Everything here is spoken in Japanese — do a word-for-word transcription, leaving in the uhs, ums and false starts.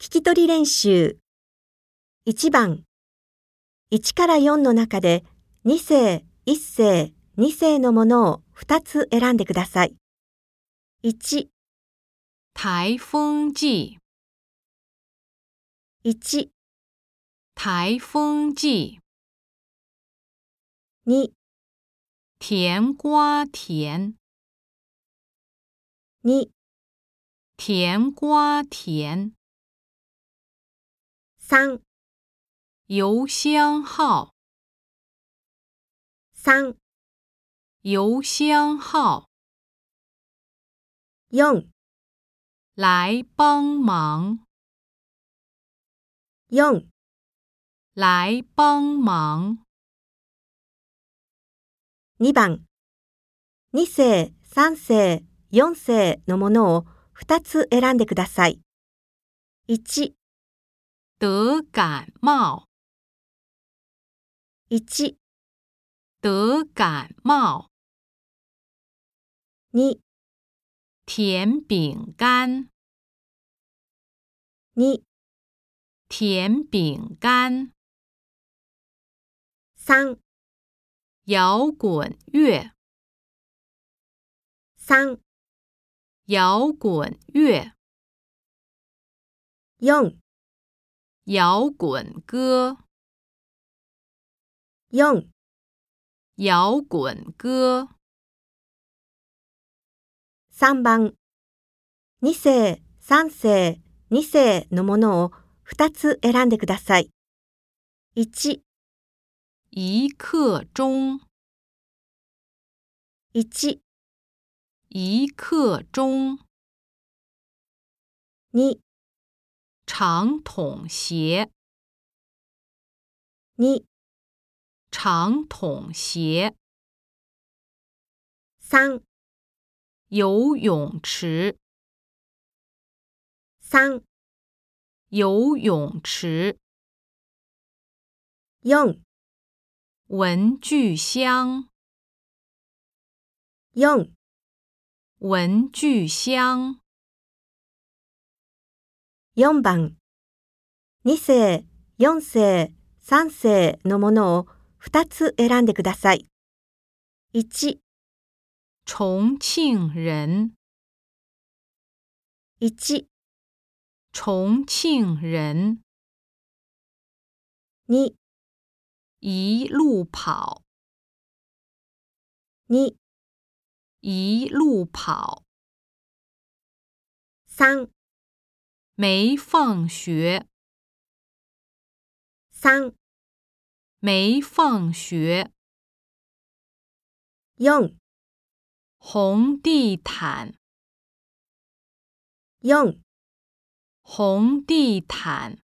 聞き取り練習。いちばん、いちからよんの中でに世、いっ世、に世のものをふたつ選んでください。いち、 台风季、 いち、 台风季、 に、 甜瓜甜、 に、 甜瓜甜、 さん、 邮箱号、 さん、 邮箱号、 よん、 来帮忙、 よん、 来帮忙、 にばん、に世、さん世、よん世のものをふたつ選んでください。いち、 得感冒、 いち、 得感冒、 に、 甜饼干、 に、 甜饼干、 さん、 摇滚乐、 さん、 摇滚乐、 よん、 摇滚歌、 よん、 摇滚歌、 さんばん、に世、さん世、に世のものをふたつ選んでください。いち、 一刻钟、 いち、 一刻钟、 に、 长筒鞋、 に、 长筒鞋、 さん、 游泳池、 さん、 游泳池、 よん、 文具箱、 よん、 文具箱、 よんばん、に世、よん世、さん世のものをふたつ選んでください。いち、 重庆人、 いち、 重庆人、 に、 一路跑、 に、 一路跑、 さん、 没放学、 さん、 没放学、 よん、 红地毯、 よん、 红地毯。